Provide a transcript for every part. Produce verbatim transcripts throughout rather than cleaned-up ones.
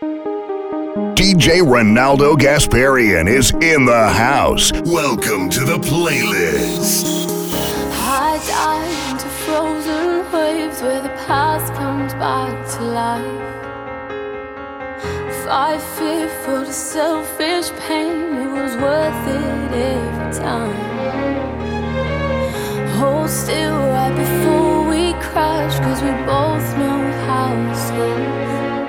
D J Ronaldo Gasparian is in the house. Welcome to the playlist. I dive into frozen waves where the past comes back to life. Fight fear for the selfish pain, it was worth it every time. Hold still right before we crash, cause we both know how it's safe.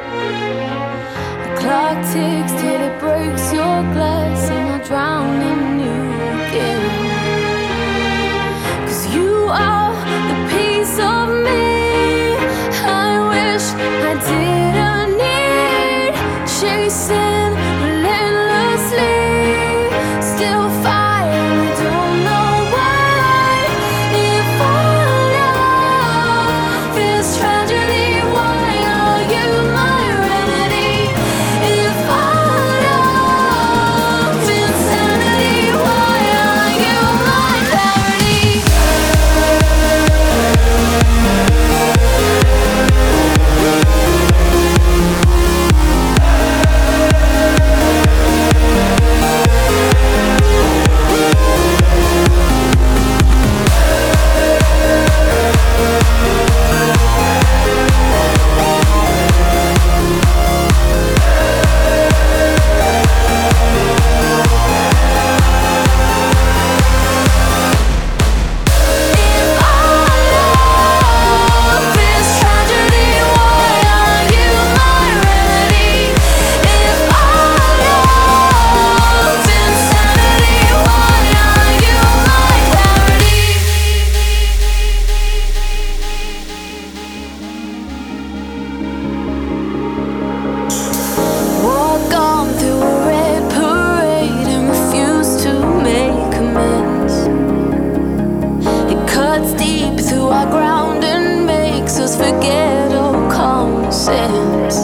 Clock ticks till it breaks your glass, and I'll drown in you again. Cause you are the piece of me I wish I didn't need. Chasing relentlessly, still fighting, I don't know why. If our love is tragedy, why are you my remedy? If our love is insanity, why are you my clarity? Walk on through a red parade and refuse to make amends. It cuts deep through our ground and makes us forget all common sense.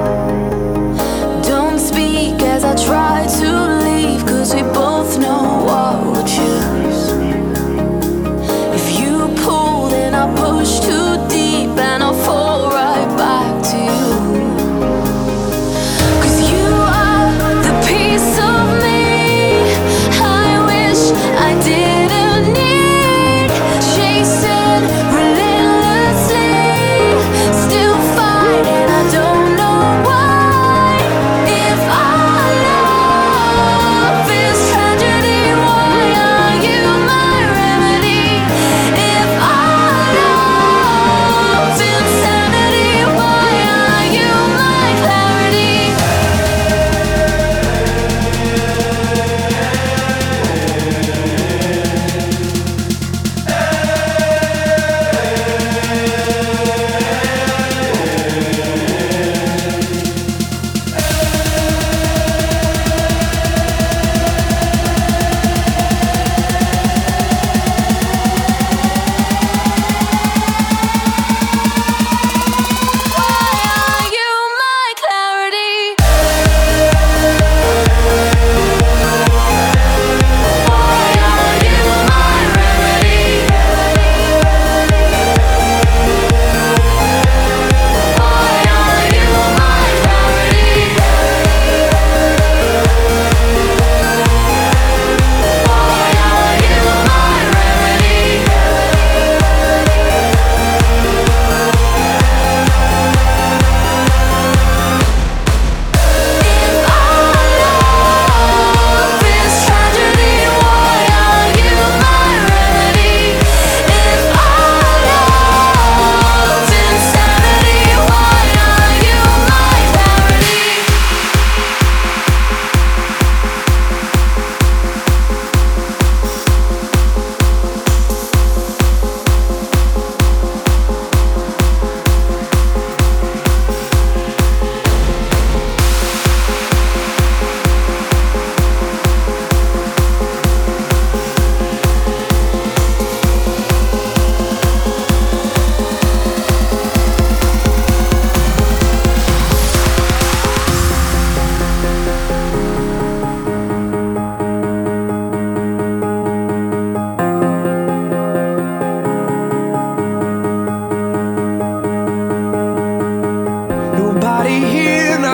Don't speak as I try to leave, cause we both know what we'll choose. If you pull, then I'll push too deep and I'll fall right back to you. Cause you are the piece of me I wish I didn't need. Chasing relentlessly, still fighting, I don't know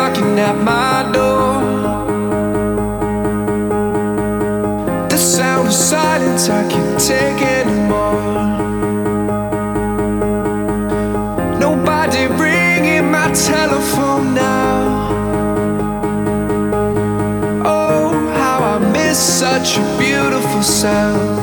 knocking at my door. The sound of silence I can't take anymore. Nobody ringing my telephone now. Oh, how I miss such a beautiful sound.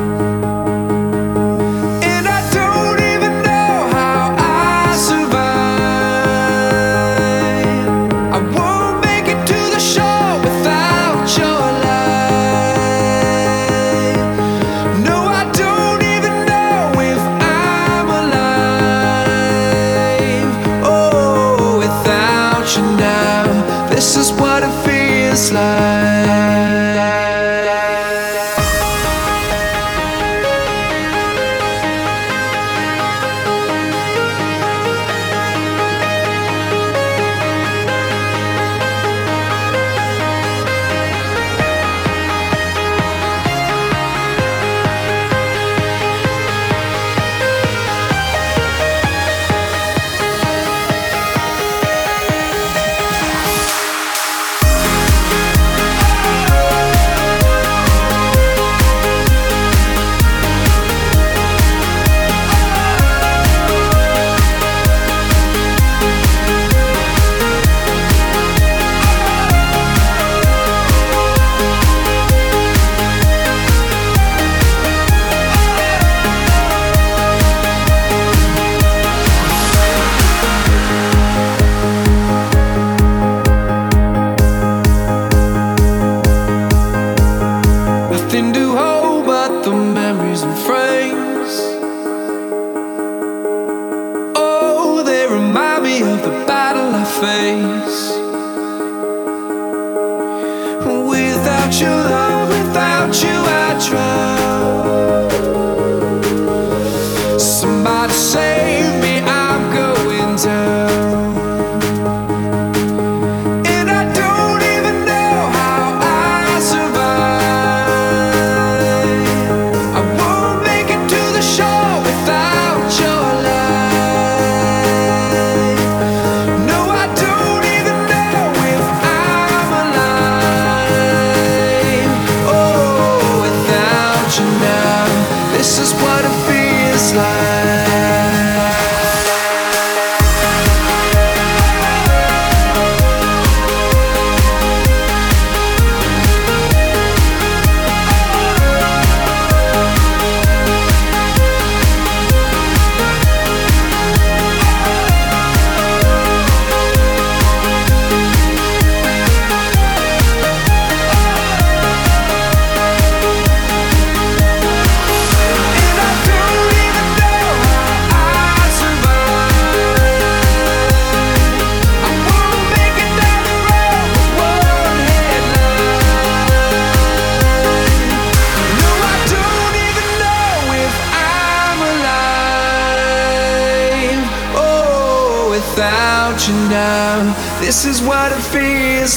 This is what it feels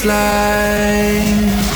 like.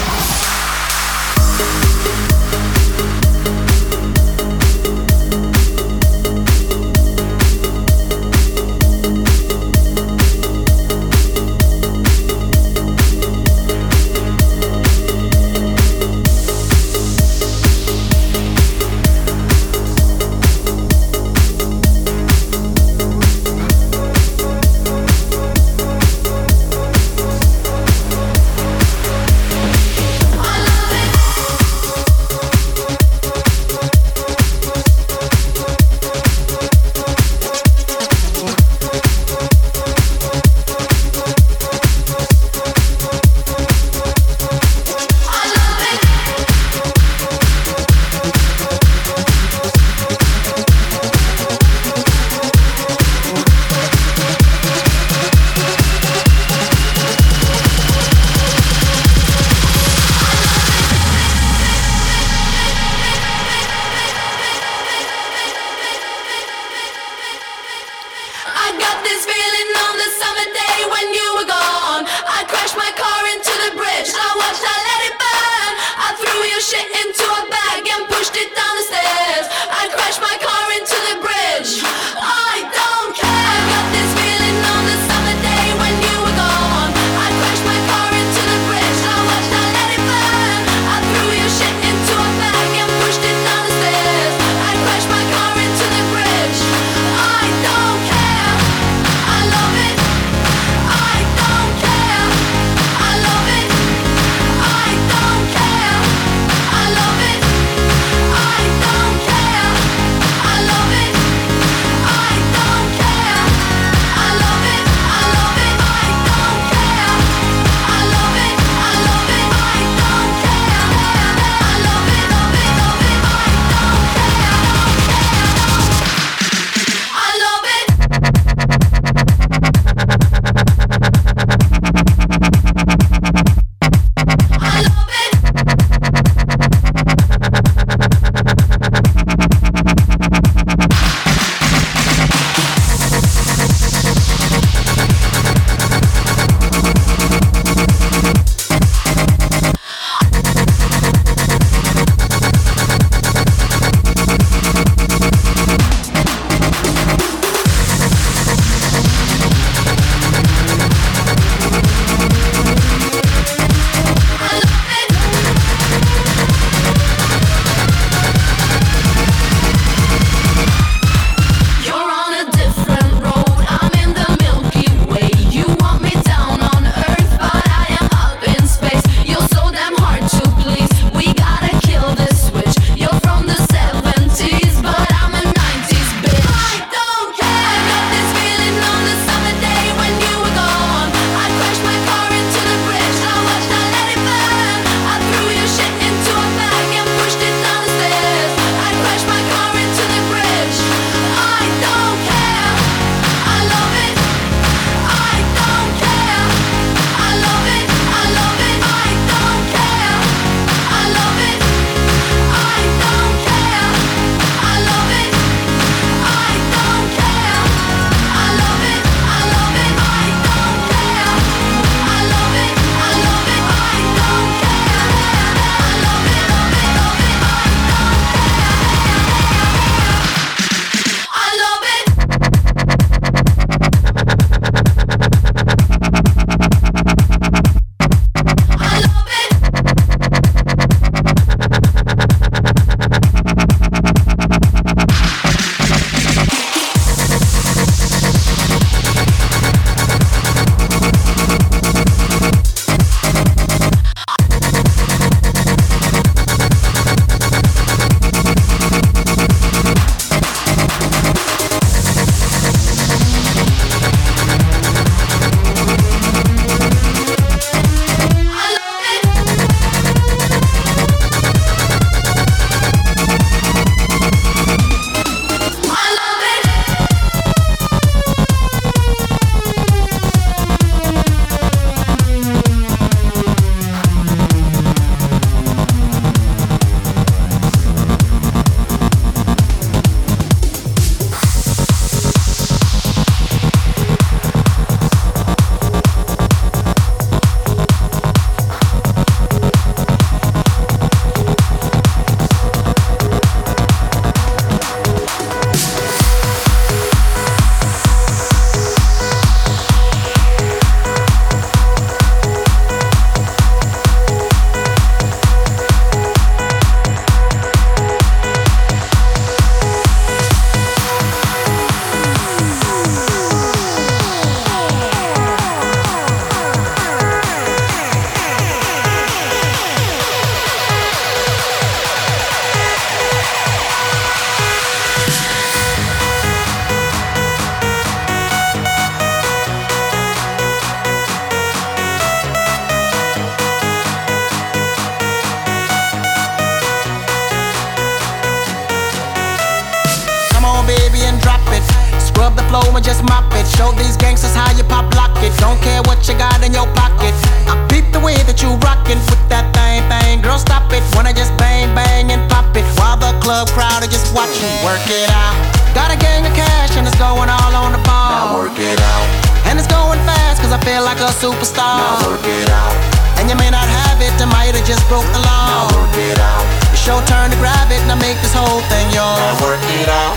I'ma just mop it. Show these gangsters how you pop lock it. Don't care what you got in your pocket. I peep the way that you rockin' with that thing, thing. Girl, stop it. Wanna just bang, bang and pop it while the club crowd are just watching. Work it out. Got a gang of cash and it's going all on the ball. Now work it out. And it's going fast cause I feel like a superstar. Now work it out. And you may not have it, I might have just broke the law. Now work it out. It's your turn to grab it and I make this whole thing yours. Now work it out.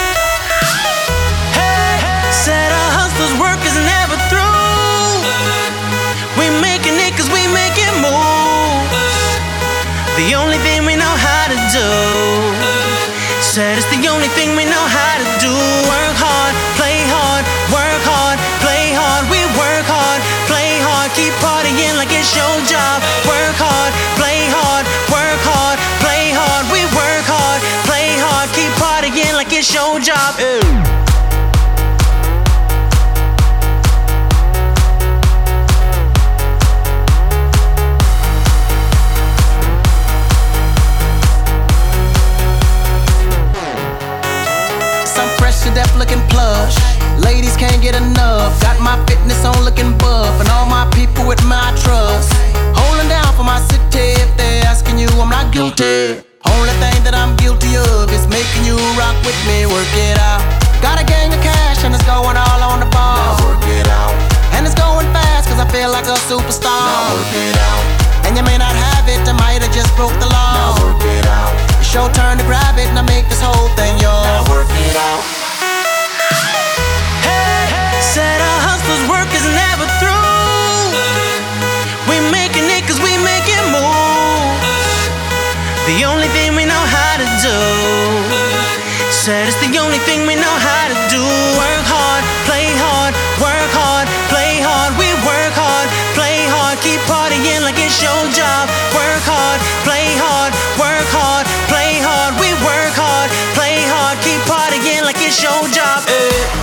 Hey, said a hustler's work is never through. We making it cause we make it move. The only thing we know how to do. Said it's the only thing we know how to do. Work hard, play hard, work hard, play hard. We work hard, play hard, keep partying like it's your job. Work hard, play hard, work hard, play hard. We work hard, play hard, keep partying like it's your job. Ew. Deaf looking plush. Ladies can't get enough. Got my fitness on looking buff. And all my people with my trust. Holding down for my city. If they're asking you, I'm not guilty. Only thing that I'm guilty of is making you rock with me. Work it out. Got a gang of cash and it's going all on the ball. Now work it out. And it's going fast cause I feel like a superstar. Now work it out. And you may not have it, I might have just broke the law. Now work it out. It's your turn to grab it and I make this whole thing yours. Now work it out. Said a hustler's work is never through. We making it cause we make it move. The only thing we know how to do. Said it's the only thing we know how to do. Work hard, play hard, work hard, play hard. We work hard, play hard, keep partying like it's your job. Work hard, play hard, work hard, play hard. We work hard, play hard, keep partying like it's your job. Hey.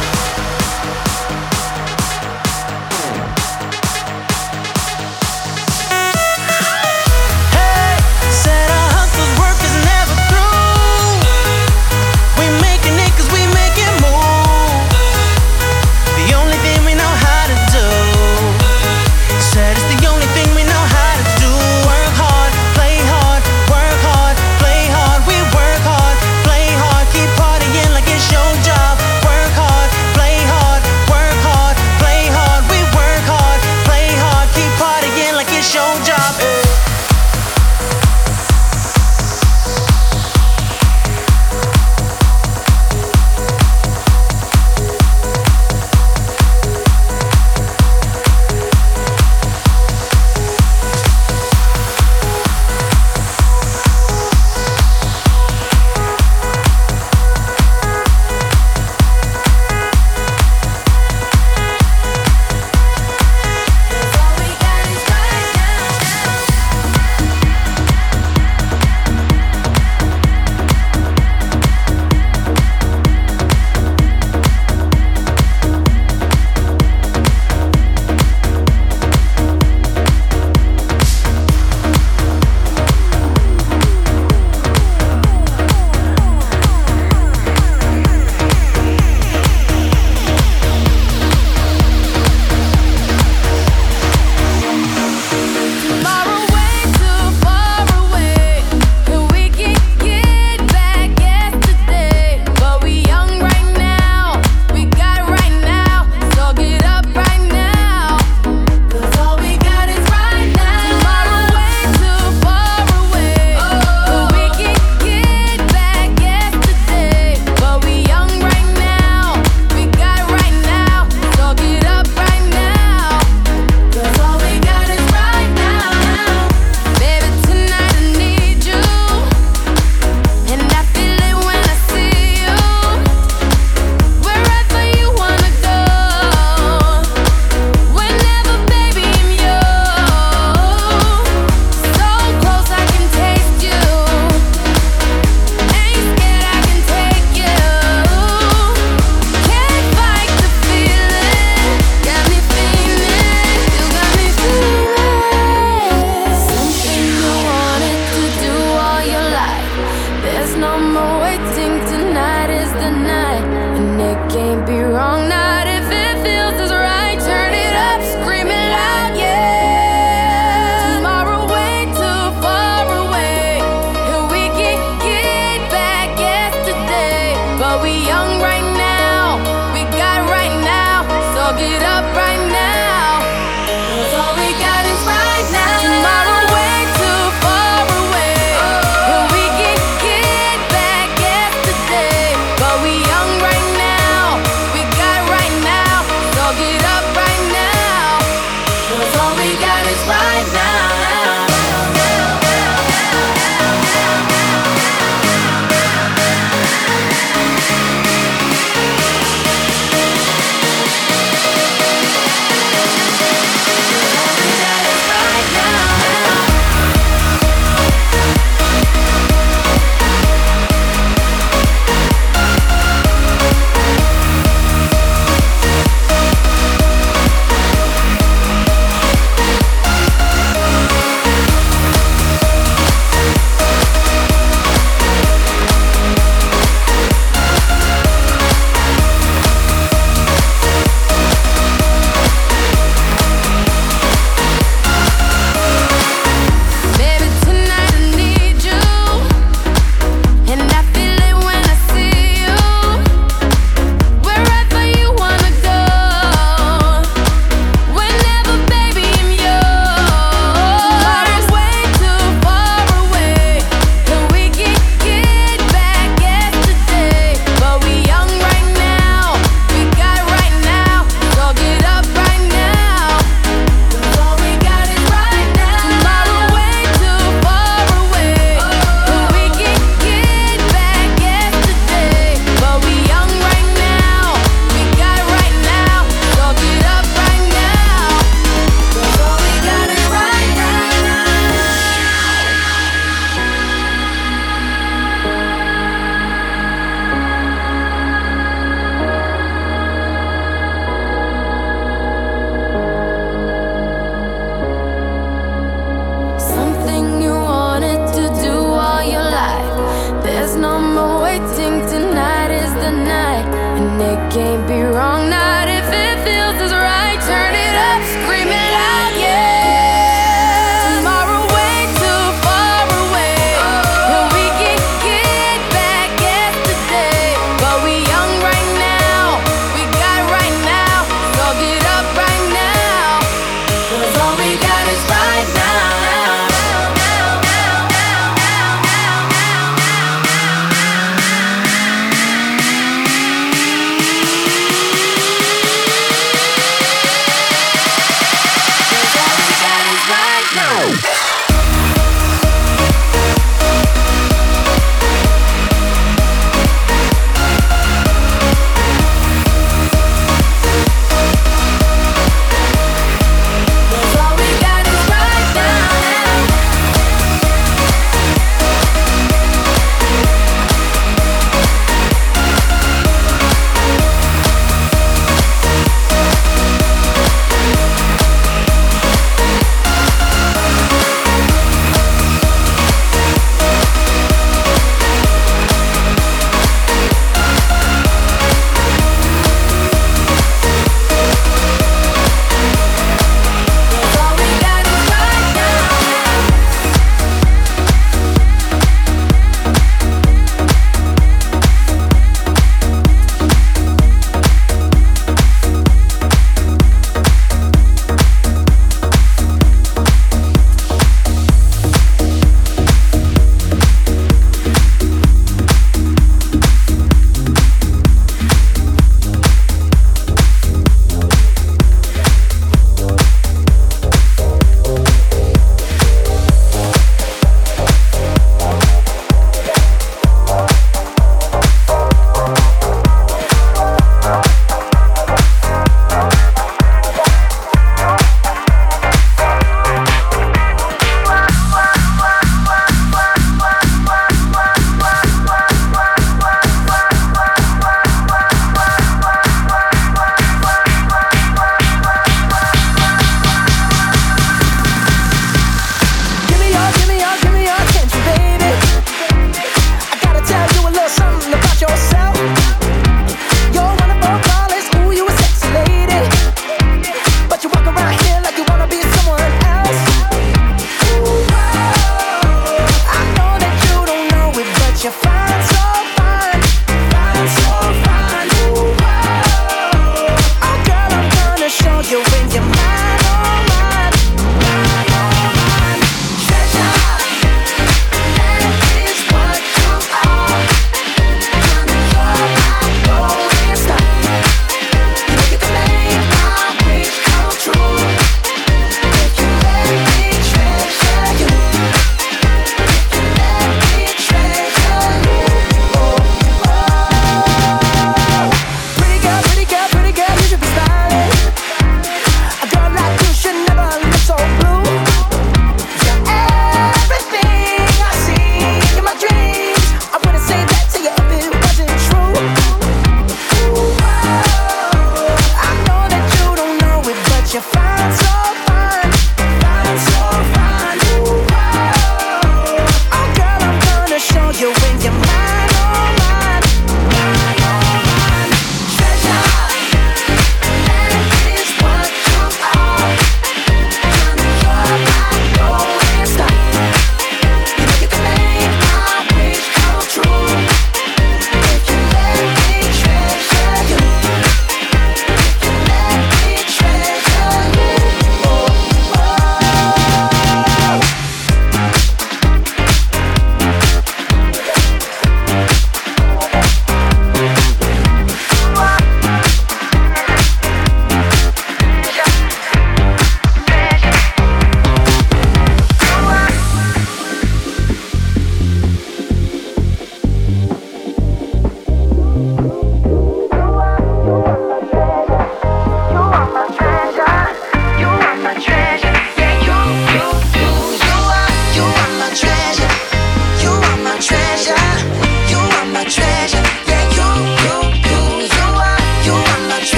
can't be wrong, not if it feels as right. Turn it up, scream it out, yeah. Tomorrow way too far away, and we can get back yesterday. But we young right now, we got right now, so get up right now, 'cause all we got is right now.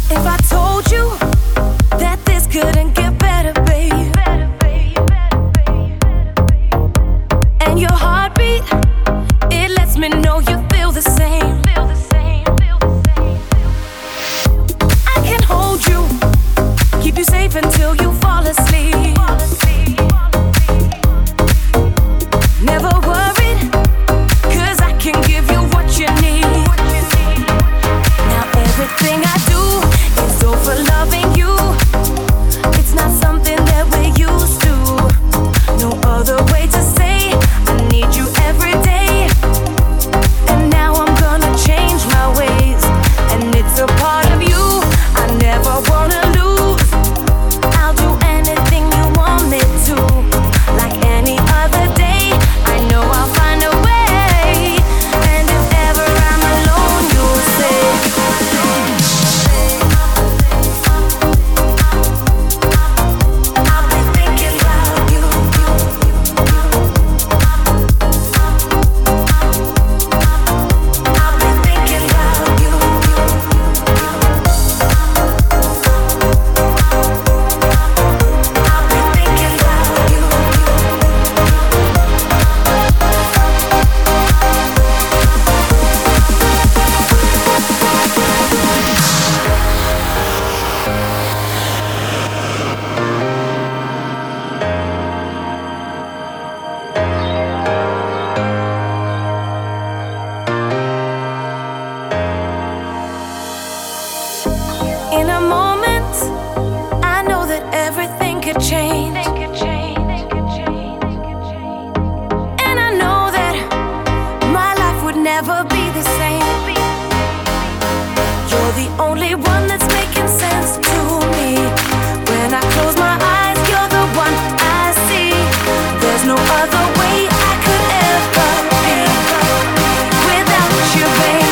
If I told you that this couldn't get better, babe, and your heartbeat, it lets me know you feel the same. I can hold you, keep you safe until you fall asleep. Never worried, 'cause I can give you what you need. Now everything I do is all for loving you. It's not something that we're used to. No other way to say I need you every day. And now I'm gonna change my ways, and it's a part of you I never wanna lose. I'll do anything you want me to, like any other day. I know I'll find a way, and if ever I'm alone, you'll say I'll be thinking about you. I'll be thinking about you. I'll be thinking about you. In a moment, I know that everything could change. And I know that my life would never be the same. You're the only one that's making sense to me. When I close my eyes, you're the one I see. There's no other way I could ever be without you, babe.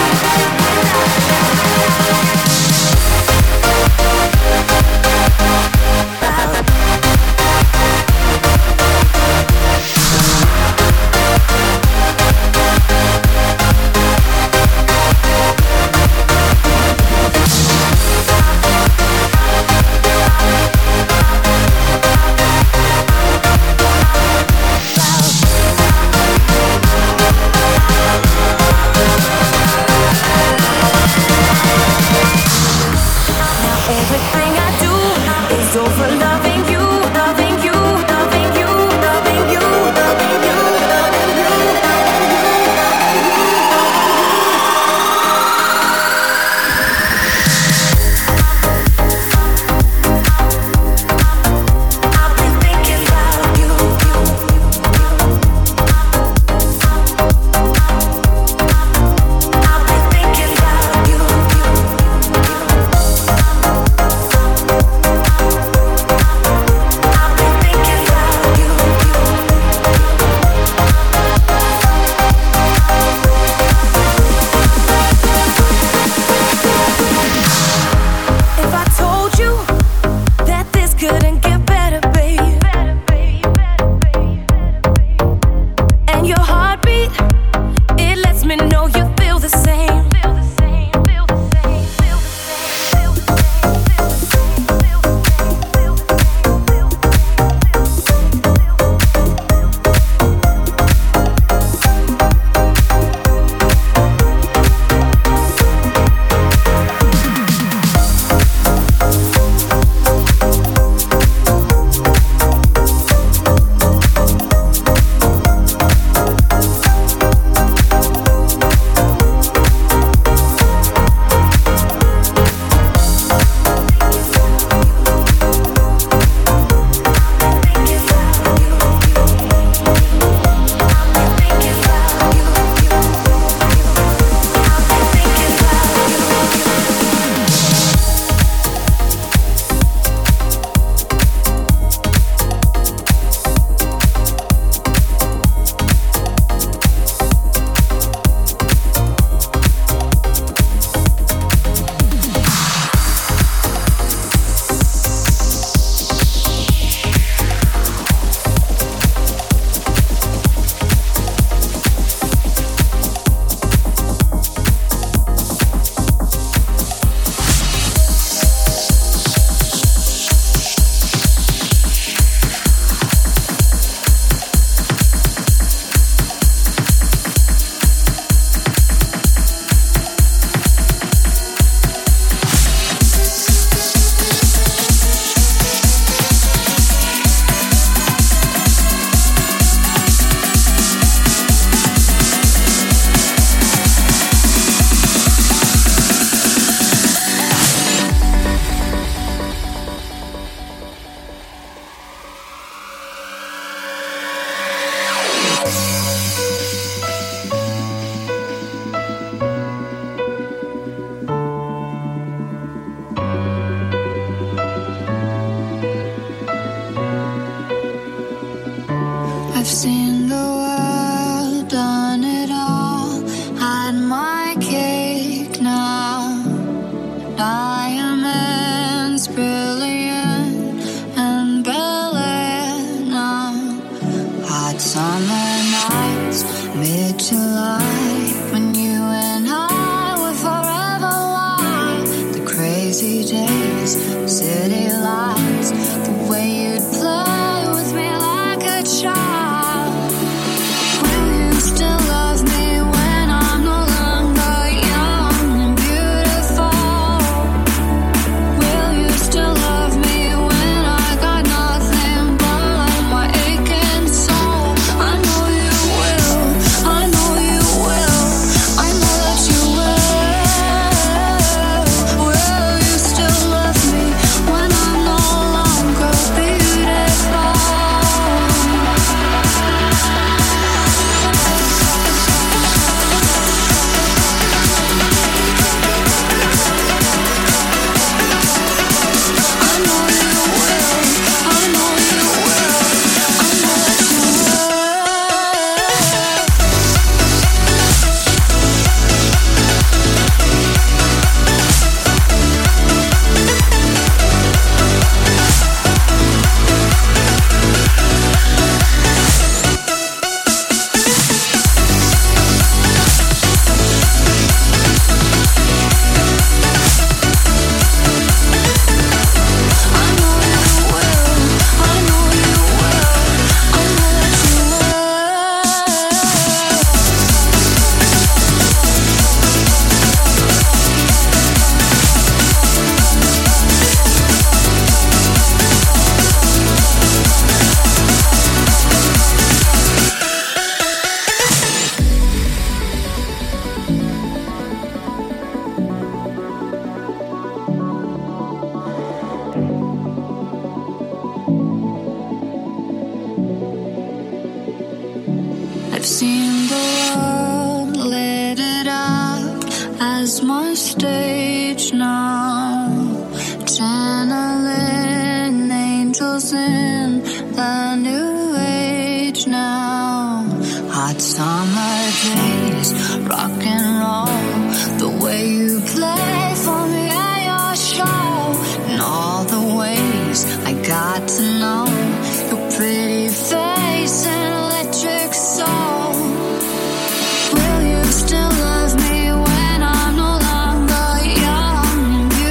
Diamonds brilliant and brilliant now. Hot summer nights, mid-July, when you and I were forever wild. The crazy days, city lights, the way you'd play with me like a child. Will you still love me when I'm no longer young and beautiful? Will you still love me when I got nothing but my aching soul? I know you will, I know you will, I know that you will. Will you still love me when I'm no longer beautiful? I know you will, I know you will, I know that you I've seen the world, lit it up as my stage now. Channeling angels in the new age now. Hot summer days, rock and roll, the way you play for me at your show, and all the ways I got to know your pretty face and electric soul. Will you still love me when I'm no longer young and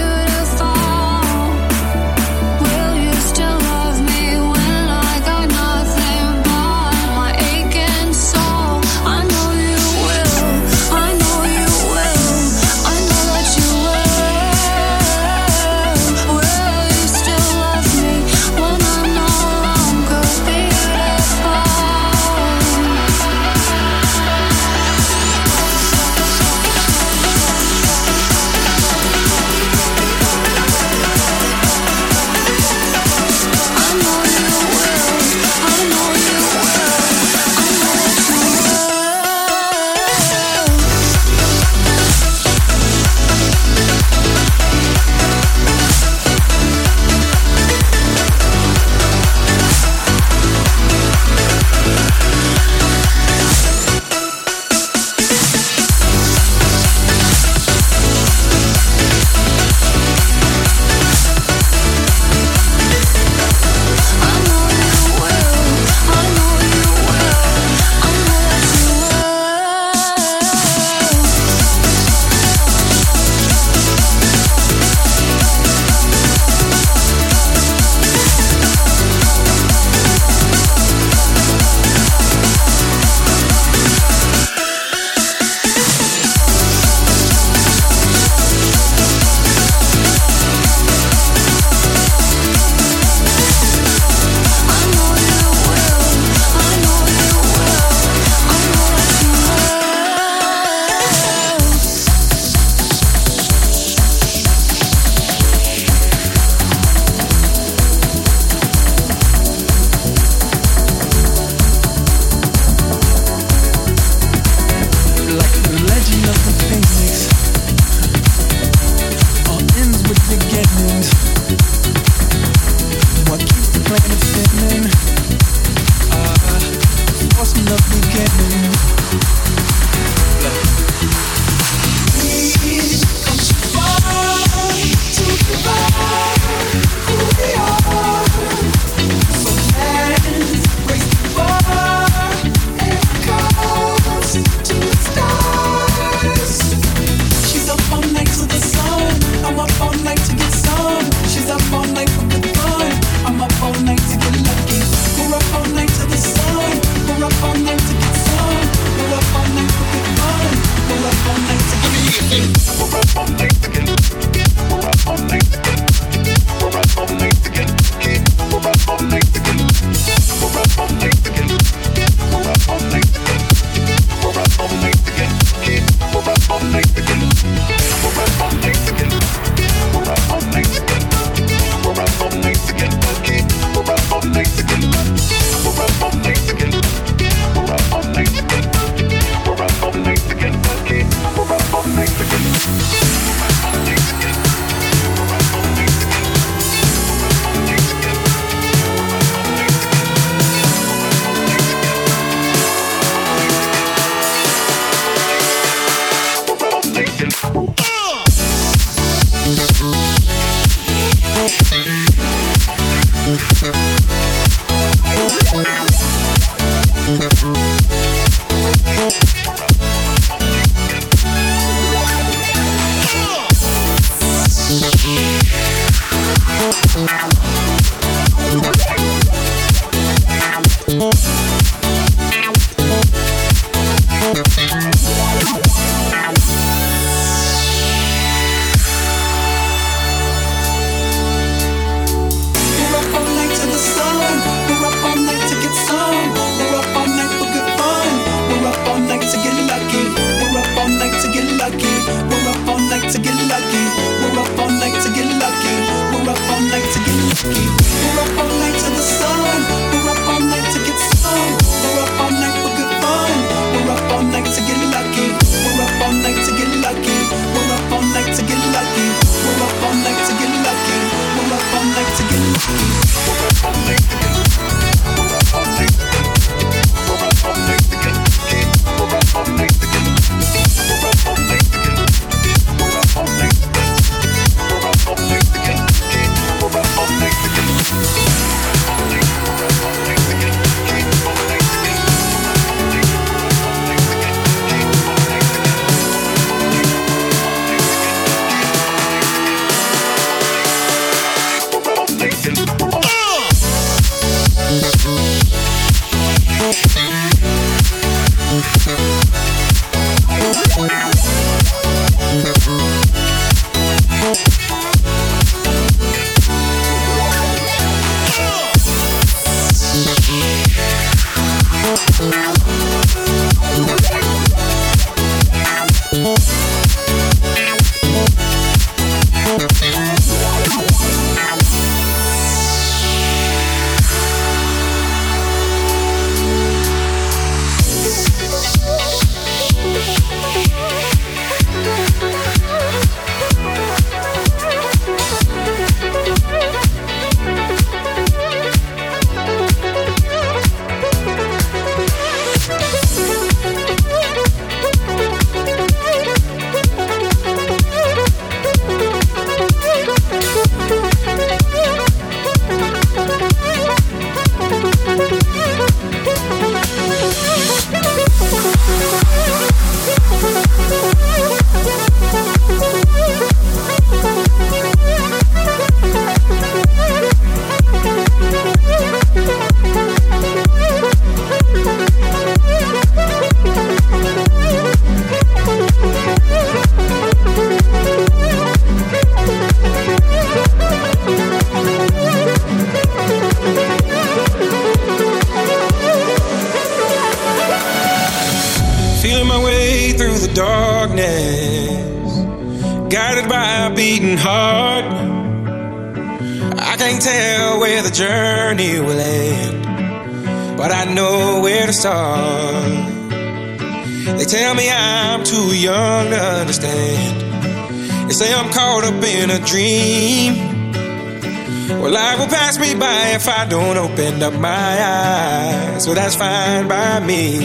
If I don't open up my eyes, so that's fine by me.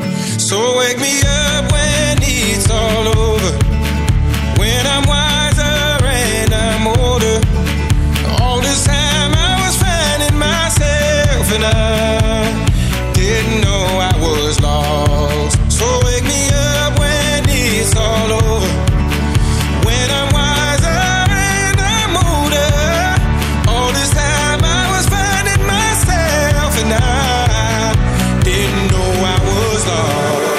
So wake me up when it's all over, when I'm wiser and I'm older. All this time I was finding myself and I didn't know I was lost. So wake me up when it's all over, when I'm wiser and I'm older. All this time I was finding myself and I didn't know I was lost.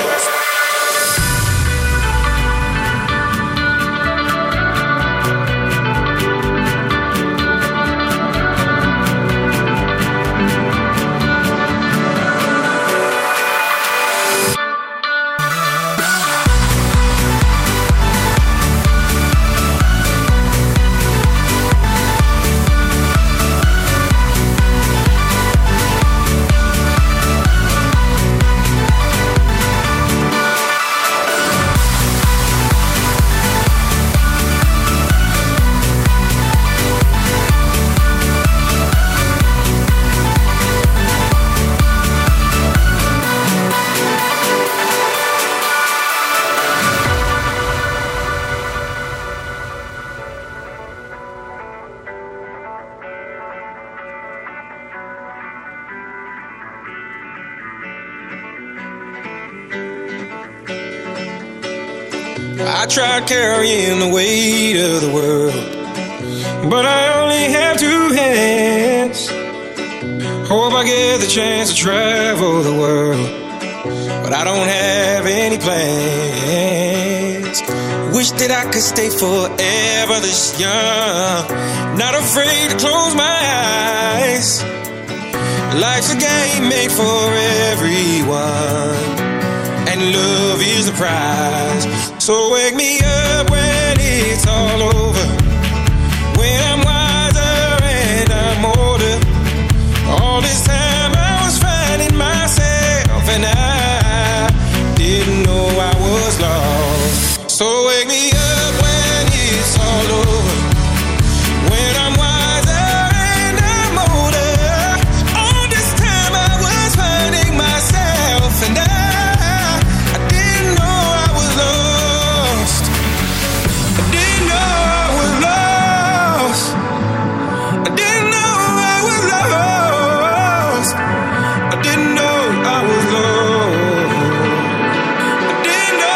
I tried carrying the weight of the world, but I only only have two hands. Hope I get the chance to travel the world, but I don't have any plans. Wish that I could stay forever this young, not afraid to close my eyes. Life's a game made for everyone, and love is the prize. So wake me up when it's all over, when I'm wiser and I'm older. All this time I was finding myself, and I didn't know I was lost. So wake me up when it's all over, when I'm wiser and I'm older. All this time I was finding myself, and I, I didn't know I was lost. I didn't know I was lost. I didn't know I was lost. I didn't know I was lost. I didn't know.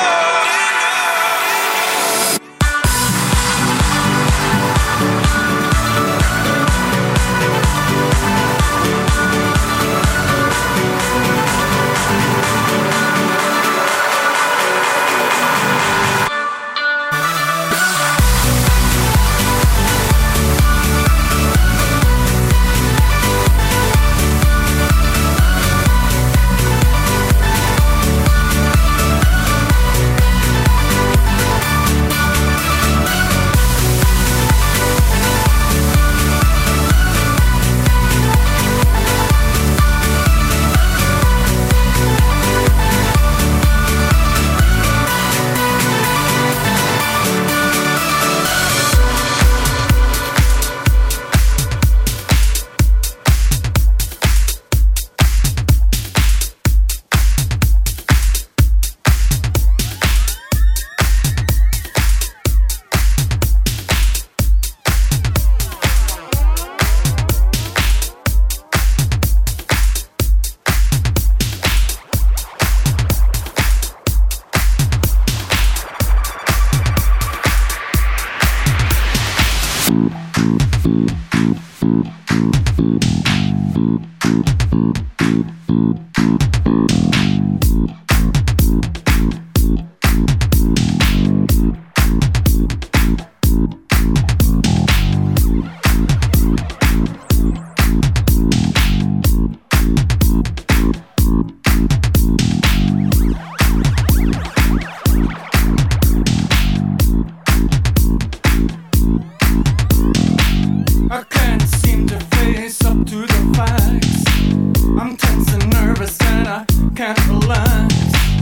I can't seem to face up to the facts. I'm tense and nervous and I can't relax.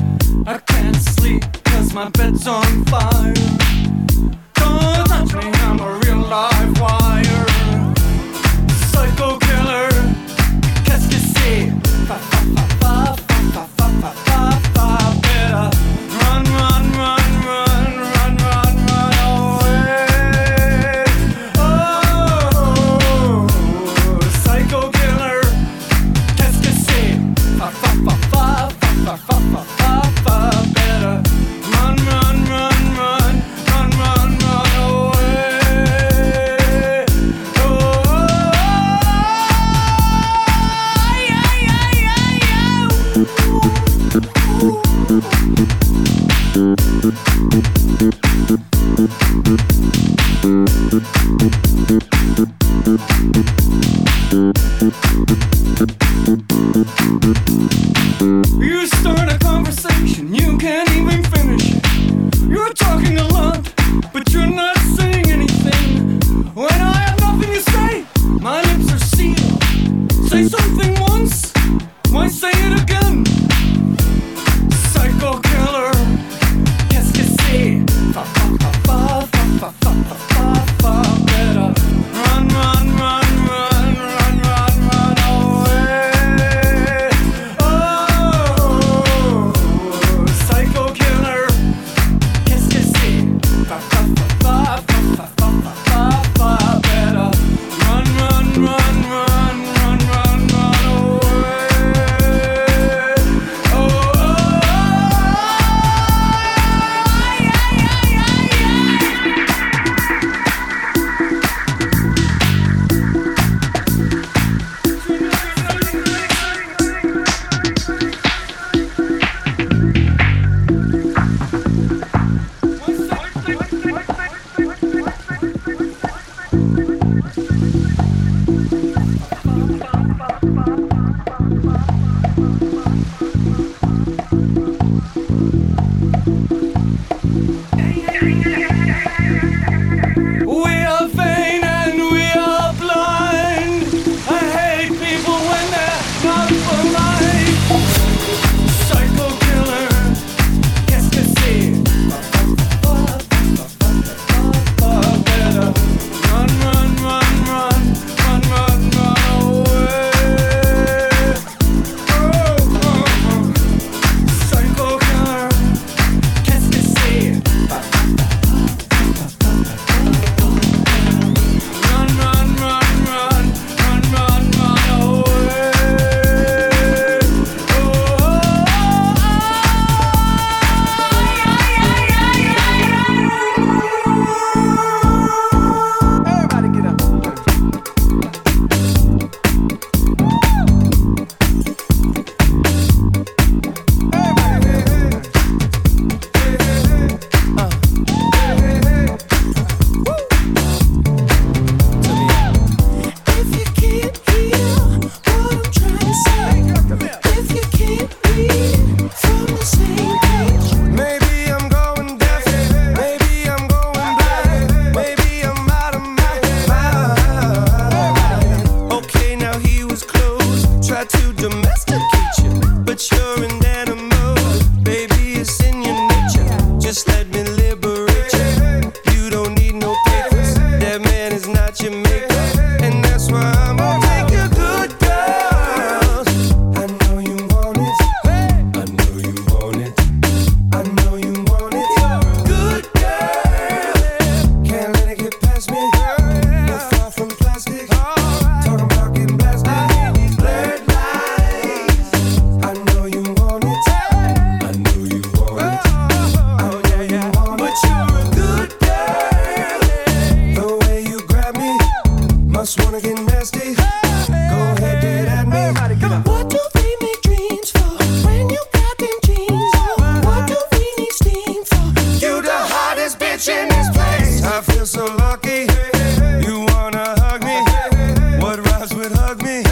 I can't sleep cause my bed's on fire. Don't touch me, I'm a real live wire. Psycho killer, qu'est-ce que c'est? Fa fa fa fa fa fa fa fa fa. Better run, run, run, run, run, run, run away. Oh, psycho killer, qu'est-ce que c'est? Fa fa fa fa fa fa fa fa fa. Better run, run, run, run, run, run, run away. Oh, yeah, yeah, yeah, yeah. You start a conversation, you can't even finish it. You're talking a lot, but you're not saying anything. When I have nothing to say, my lips are sealed. Say something once, why say it again? Psycho killer, qu'est-ce que c'est? Fa fa fa fa fa fa fa fa fa. Better run, run, run, run, run, run, run away. Oh, psycho killer, qu'est-ce que c'est? Fa fa fa fa not your makeup, and that's why I'm gonna take you good girls. I know you want it. I know you want it. I know you want it. Good girl. Can't let it get past me. We're far from plastic. Talking about getting blasted. Blurred lines. I know you want it. I know you want it. I know you want it. But you're a good girl. The way you grab me, must wanna get nasty. Go ahead, get at me. What do we make dreams for when you got them jeans on? What do we need steam for? You the hottest bitch in this place. I feel so lucky. You wanna hug me? What rhymes with hug me?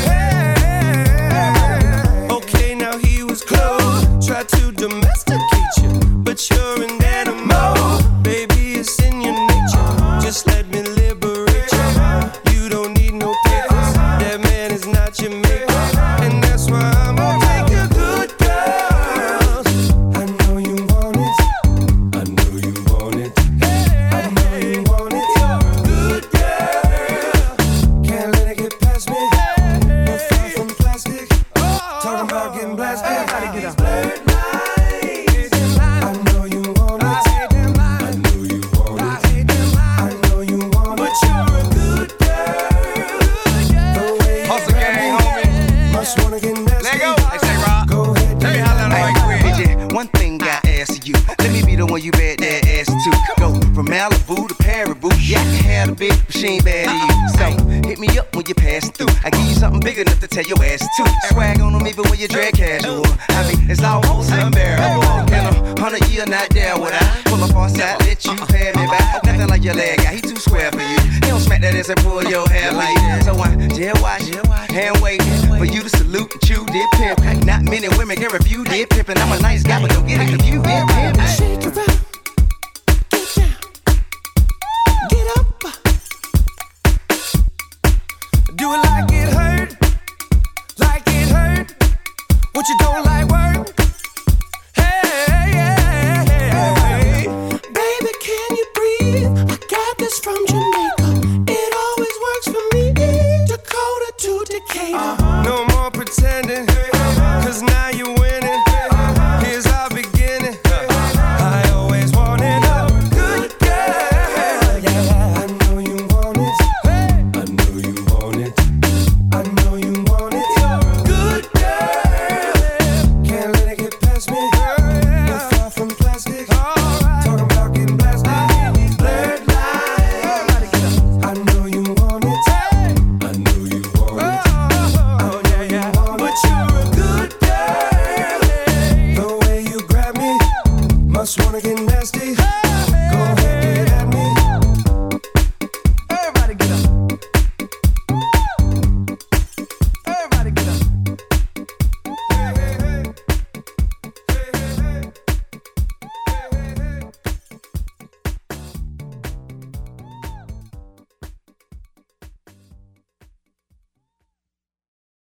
Okay, now he was close. Tried to domesticate you, but you're an animal. Baby, it's in your nature. Just let me liberate you. You don't need no papers. That man is not your maker, and that's why I'm gonna take you good girls. I know you want it. I know you want it. I know you want it. Good girl. Can't let it get past me. We're far from plastic. Talking about getting blasted. These blurred lines. I know you want it. I know you want it. I know you want it. But you're a good girl. The way you Hustle grab gang, me, homie. must wanna get nasty. Let go. Hey, say, Rob. Go ahead, Let me get holler at right me. quick. Hey, yeah, one thing I ask you. Let me be the one you bet that ass to. Go from Malibu to Paribu. Yeah, I can have a bitch, but she ain't bad to you. So hit me up when you pass through. I give you something big enough to tell your ass to. Swag on them even when you drag casual. I mean, it's almost unbearable. In a hundred year, not there would I pull up on side, let you pay me back. Nothing like your leg guy, he too square for you. He don't smack that ass and pull your hair like that. So I jail watch, hand waiting for you to salute and chew did pimp. Not many women can refuse did pimpin'. I'm a nice guy, but don't get it confused. Did pimp. Shake it up.